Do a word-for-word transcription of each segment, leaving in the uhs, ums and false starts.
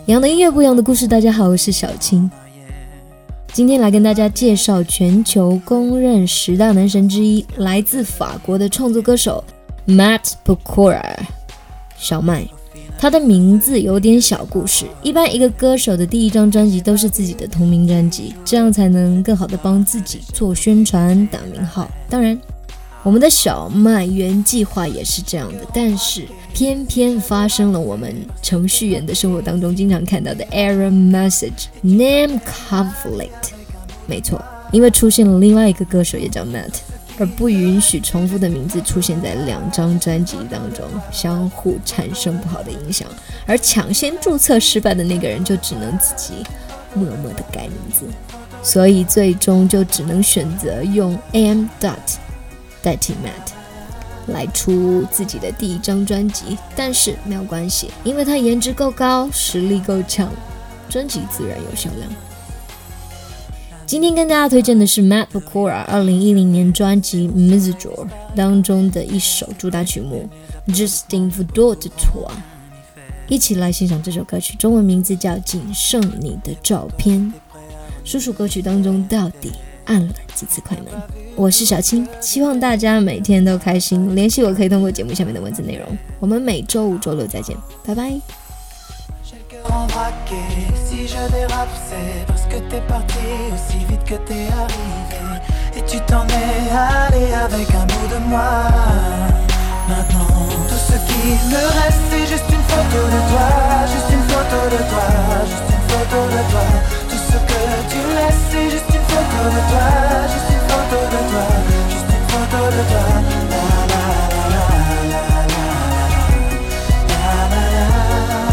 一样的音乐，不一样的故事。大家好，我是小青。今天来跟大家介绍全球公认十大男神之一，来自法国的创作歌手 Matt Pokora 小麦。他的名字有点小故事，一般一个歌手的第一张专辑都是自己的同名专辑，这样才能更好的帮自己做宣传打名号。当然我们的小麦原计划也是这样的，但是偏偏发生了我们程序员的生活当中经常看到的 error message name conflict。 没错，因为出现了另外一个歌手也叫 Matt， 而不允许重复的名字出现在两张专辑当中，相互产生不好的影响，而抢先注册失败的那个人就只能自己默默的改名字，所以最终就只能选择用 am dot代替 Matt 来出自己的第一张专辑。但是没有关系，因为他颜值够高，实力够强，专辑自然有销量。今天跟大家推荐的是 Matt Pokora 二零一零年专辑 Miserable 当中的一首主打曲目 Justin Trudeau de Toi， 一起来欣赏这首歌曲，中文名字叫仅剩你的照片。数数歌曲当中到底按了几次快门。我是小青，希望大家每天都开心。联系我可以通过节目下面的文字内容。我们每周五、周六再见，拜拜。Si je dérape c'est parce que t'es parti aussi vite que t'es arrivé et tu t'en es allé avec un bout de moi. Maintenant tout ce qui me reste c'est juste une photo de toi, juste une photo de toi, juste une photo de toi. Tout ce que tu laisses c'est juste une photo de toi, juste une photo de toi, juste une photo de toi. La la la la la la la la la.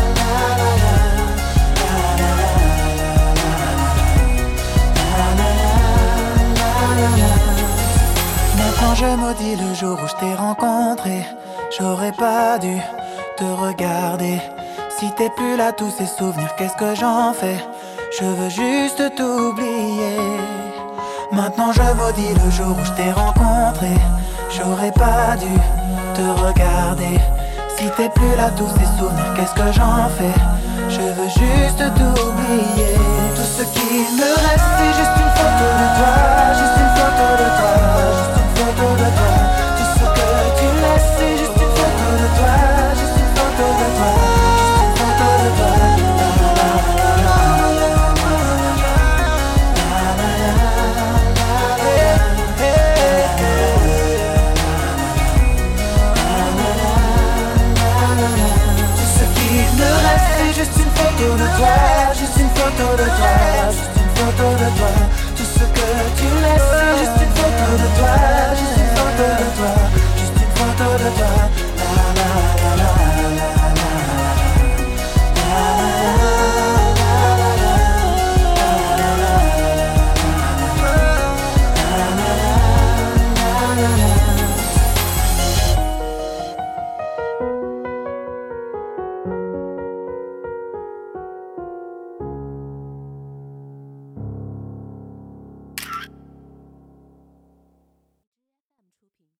Quand je maudis le jour où je t'ai rencontré, j'aurais pas dû te regarder. Si t'es plus là, tous ces souvenirs, qu'est-ce que j'en fais? Je veux juste t'oublier. Maintenant je maudis le jour où je t'ai rencontré, j'aurais pas dû te regarder. Si t'es plus là, tous ces souvenirs, qu'est-ce que j'en fais? Je veux juste te